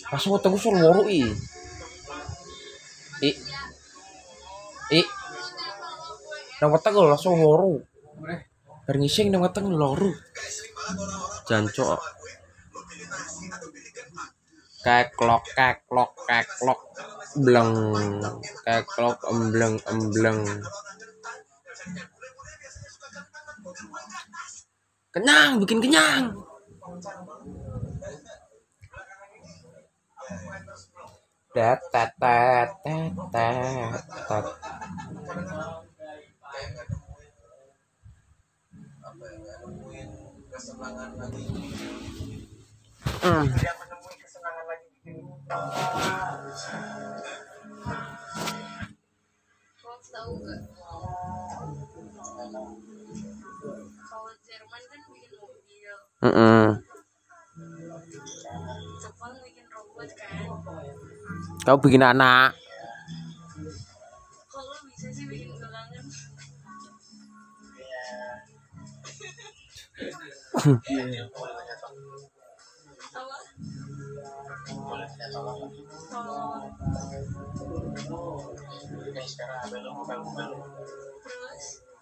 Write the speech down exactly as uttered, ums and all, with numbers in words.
Langsung ketemu sol loro i. I i nang weteng lho langsung loro. Bar ngising nang weteng loro. Jancuk. Keklok keklok keklok bleng keklok embleng embleng. Kenyang, bikin kenyang. Tet tet tet tet tet. Hmm. Tahu nggak? Kalau Jerman kan bikin mobil. Mm -mm. Jepang bikin robot kan. Kau bikin anak. Kalau bisa sih bikin gelangan. Apa? Terus?